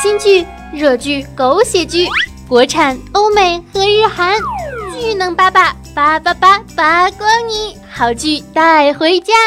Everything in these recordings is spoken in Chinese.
新剧、热剧、狗血剧，国产、欧美和日韩，剧能八光你，好剧带回家。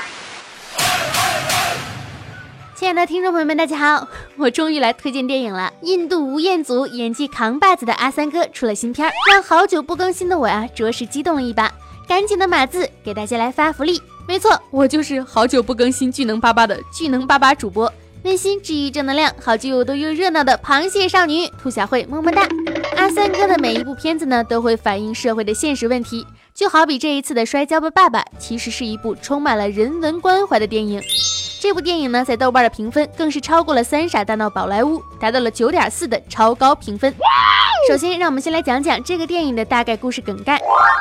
亲爱的听众朋友们，大家好，我终于来推荐电影了。印度吴彦祖演技扛把子的阿三哥出了新片，让好久不更新的我着实激动了一把。赶紧的码字给大家来发福利，没错，我就是好久不更新巨能爸爸的巨能爸爸主播，温馨治愈正能量，好剧有多又热闹的螃蟹少女兔小慧，么么哒。阿三哥的每一部片子呢，都会反映社会的现实问题，就好比这一次的摔跤吧爸爸，其实是一部充满了人文关怀的电影。这部电影呢，在豆瓣的评分更是超过了三傻大闹宝莱坞，达到了 9.4 的超高评分。首先让我们先来讲讲这个电影的大概故事梗概。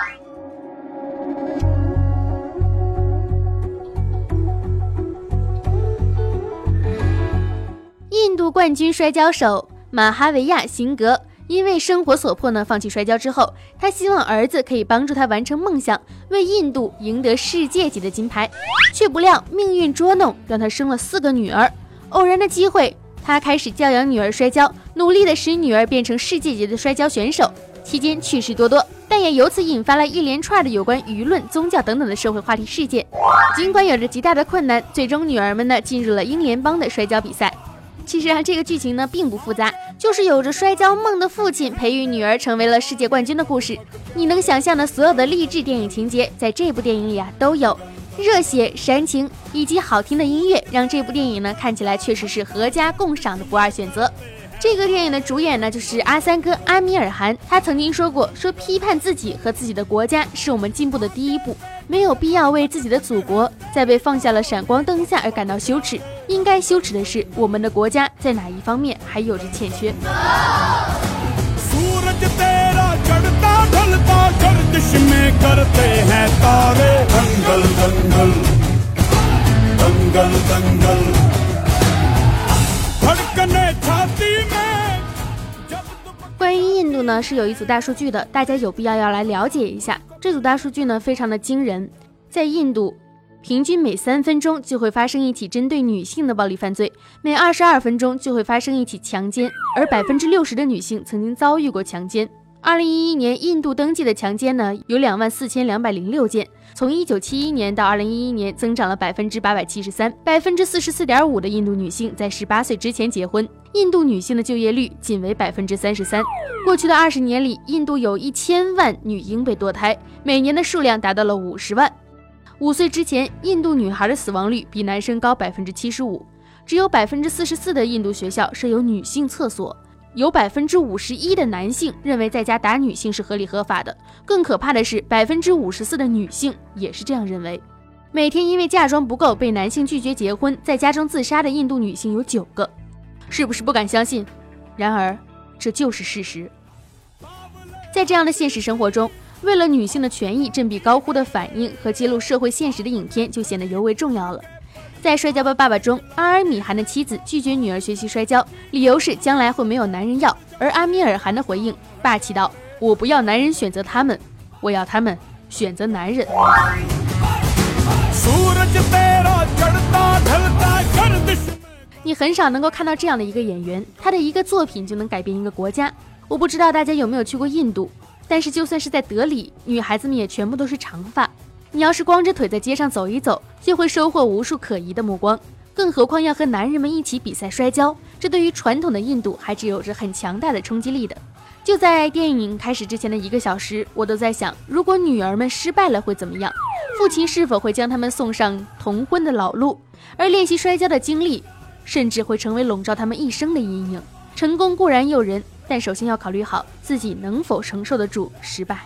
印度冠军摔跤手马哈维亚辛格因为生活所迫呢，放弃摔跤之后，他希望儿子可以帮助他完成梦想，为印度赢得世界级的金牌，却不料命运捉弄，让他生了4个女儿。偶然的机会，他开始教养女儿摔跤，努力的使女儿变成世界级的摔跤选手，期间趣事多多，但也由此引发了一连串的有关舆论、宗教等等的社会话题事件。尽管有着极大的困难，最终女儿们呢进入了英联邦的摔跤比赛。其实这个剧情呢并不复杂，就是有着摔跤梦的父亲培育女儿成为了世界冠军的故事。你能想象的所有的励志电影情节，在这部电影里都有。热血、煽情以及好听的音乐，让这部电影呢看起来确实是合家共赏的不二选择。这个电影的主演呢就是阿三哥阿米尔汗，他曾经说过，批判自己和自己的国家是我们进步的第一步，没有必要为自己的祖国在被放下了闪光灯下而感到羞耻，应该羞耻的是我们的国家在哪一方面还有着欠缺。关于印度呢，是有一组大数据的，大家有必要来了解一下。这组大数据呢非常的惊人，在印度平均每3分钟就会发生一起针对女性的暴力犯罪，每22分钟就会发生一起强奸，而 60% 的女性曾经遭遇过强奸。2011年印度登记的强奸呢有24206件，从1971年到2011年增长了 873%， 44.5% 的印度女性在18岁之前结婚，印度女性的就业率仅为 33%。 过去的20年里，印度有1000万女婴被堕胎，每年的数量达到了50万。5岁之前，印度女孩的死亡率比男生高 75%， 只有 44% 的印度学校设有女性厕所，有 51% 的男性认为在家打女性是合理合法的，更可怕的是 54% 的女性也是这样认为。每天因为嫁妆不够被男性拒绝结婚，在家中自杀的印度女性有9个，是不是不敢相信？然而这就是事实。在这样的现实生活中，为了女性的权益振臂高呼的反应和揭露社会现实的影片就显得尤为重要了。在《摔跤吧爸爸》中，阿尔米汗的妻子拒绝女儿学习摔跤，理由是将来会没有男人要，而阿米尔汗的回应霸气道：我不要男人选择他们，我要他们选择男人。你很少能够看到这样的一个演员，他的一个作品就能改变一个国家。我不知道大家有没有去过印度，但是就算是在德里，女孩子们也全部都是长发。你要是光着腿在街上走一走，就会收获无数可疑的目光，更何况要和男人们一起比赛摔跤，这对于传统的印度还是有着很强大的冲击力的。就在电影开始之前的1个小时，我都在想，如果女儿们失败了会怎么样？父亲是否会将他们送上童婚的老路？而练习摔跤的经历甚至会成为笼罩他们一生的阴影。成功固然诱人，但首先要考虑好自己能否承受得住失败。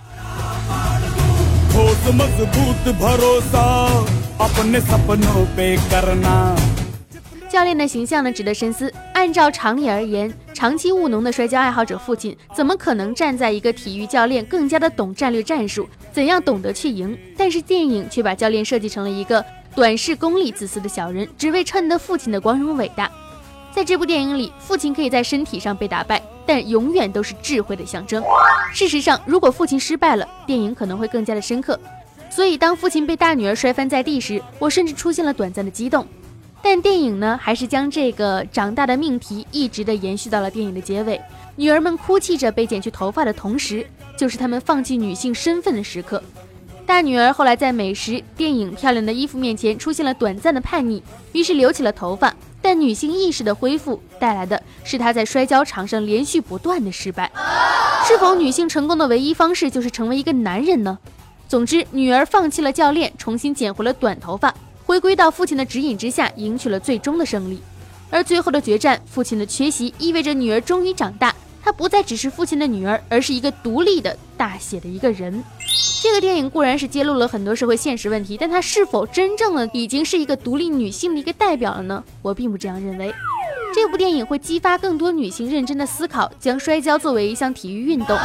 教练的形象呢值得深思。按照常理而言，长期务农的摔跤爱好者父亲怎么可能站在一个体育教练更加的懂战略战术，怎样懂得去赢？但是电影却把教练设计成了一个短视、功利、自私的小人，只为衬得父亲的光荣伟大。在这部电影里，父亲可以在身体上被打败，但永远都是智慧的象征。事实上，如果父亲失败了，电影可能会更加的深刻。所以当父亲被大女儿摔翻在地时，我甚至出现了短暂的激动。 但电影呢，还是将这个长大的命题一直的延续到了电影的结尾。女儿们哭泣着被剪去头发的同时，就是她们放弃女性身份的时刻。大女儿后来在美食、电影、漂亮的衣服面前出现了短暂的叛逆，于是留起了头发。但女性意识的恢复带来的是她在摔跤场上连续不断的失败。是否女性成功的唯一方式就是成为一个男人呢？总之，女儿放弃了教练，重新剪回了短头发，回归到父亲的指引之下，赢取了最终的胜利。而最后的决战，父亲的缺席意味着女儿终于长大，她不再只是父亲的女儿，而是一个独立的大写的一个人。这个电影固然是揭露了很多社会现实问题，但它是否真正的已经是一个独立女性的一个代表了呢？我并不这样认为。这部电影会激发更多女性认真的思考，将摔跤作为一项体育运动。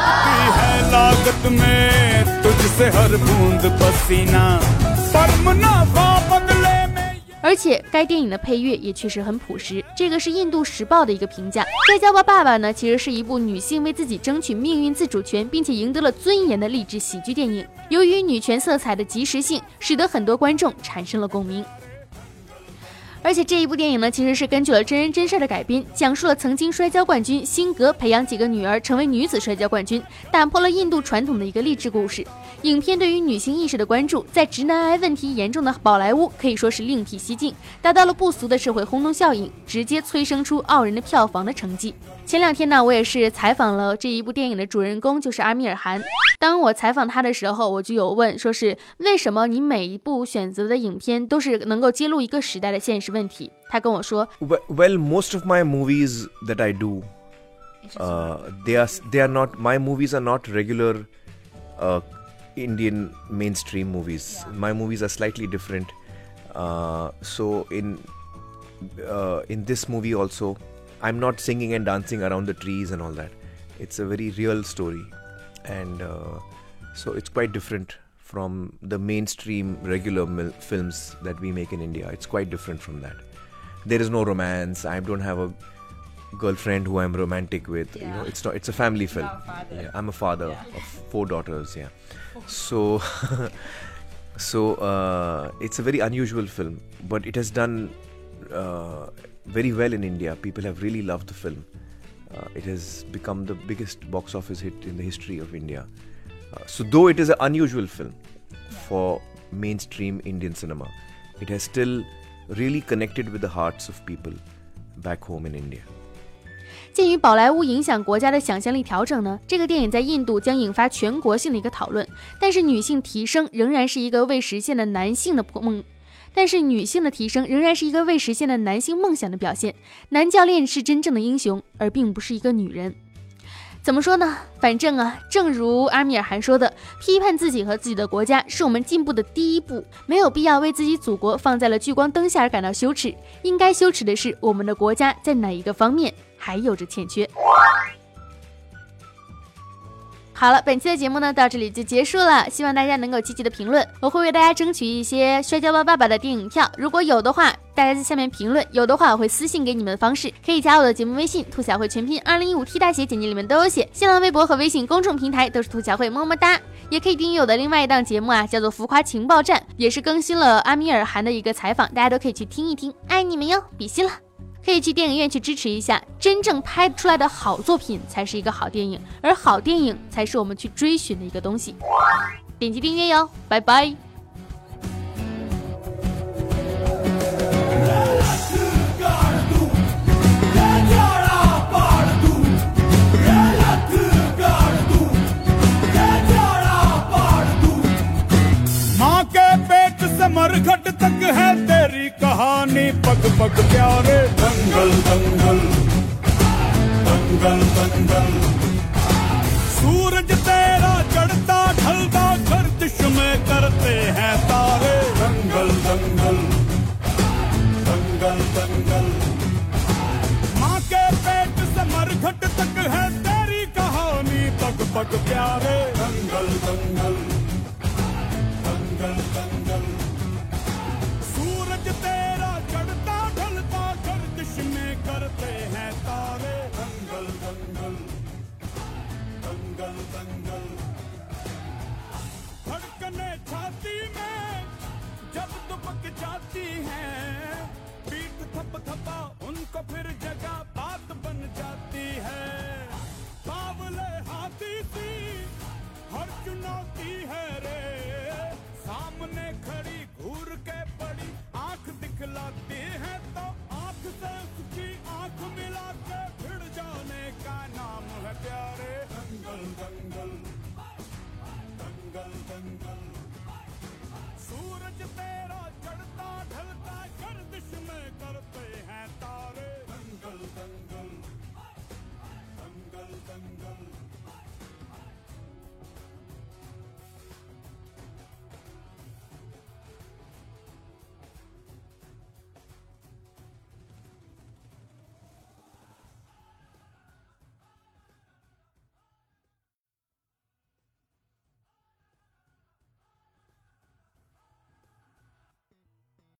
而且该电影的配乐也确实很朴实，这个是印度时报的一个评价。摔跤吧爸爸呢，其实是一部女性为自己争取命运自主权并且赢得了尊严的励志喜剧电影。由于女权色彩的及时性，使得很多观众产生了共鸣。而且这一部电影呢，其实是根据了真人真事的改编，讲述了曾经摔跤冠军辛格培养几个女儿成为女子摔跤冠军，打破了印度传统的一个励志故事。影片对于女性意识的关注，在直男癌问题严重的宝莱坞可以说是另辟蹊径，达到了不俗的社会轰动效应，直接催生出傲人的票房的成绩。前2天呢，我也是采访了这一部电影的主人公，就是阿米尔汗。当我采访他的时候，我就有问，说是为什么你每一部选择的影片都是能够揭露一个时代的现实问题？他跟我说 Well, most of my movies that I do, they are not, my movies are not regular Indian mainstream movies. My movies are slightly different. So in this movie also, I'm not singing and dancing around the trees and all that. It's a very real story, and so it's quite different from the mainstream regular films that we make in India. It's quite different from that. There is no romance. I don't have a girlfriend who I'm romantic with. You know, it's a family film. Yeah, I'm a father of 4 daughters. Yeah, so it's a very unusual film, but it has done very well in India. People have really loved the film. It has become the biggest box office hit in the history of India. So though it is an unusual film for mainstream Indian cinema, it has still really connected with the hearts of people back home in India. 鉴于宝莱坞影响国家的想象力调整呢，这个电影在印度将引发全国性的一个讨论。但是女性提升仍然是一个未实现的男性梦想的表现。男教练是真正的英雄，而并不是一个女人。怎么说呢？反正啊，正如阿米尔汗说的，批判自己和自己的国家是我们进步的第一步，没有必要为自己祖国放在了聚光灯下而感到羞耻，应该羞耻的是我们的国家在哪一个方面还有着欠缺。好了，本期的节目呢到这里就结束了，希望大家能够积极的评论，我会为大家争取一些摔跤吧爸爸的电影票，如果有的话大家在下面评论，有的话我会私信给你们的方式，可以加我的节目微信兔小慧全拼2015 T 大写，简介里面都有写，新浪微博和微信公众平台都是兔小慧，么么哒。也可以订阅我的另外一档节目啊，叫做浮夸情报站，也是更新了阿米尔汗的一个采访，大家都可以去听一听，爱你们哟，比心了。可以去电影院去支持一下，真正拍出来的好作品才是一个好电影，而好电影才是我们去追寻的一个东西。点击订阅哟，拜拜。 मरघट तक है तेरी कहानी पग पग प्यारे दंगल दंगल दंगल दंगल सूरज तेरा चढ़ता ढलता गर्दिश में करते हैं तारे दंगल दंगल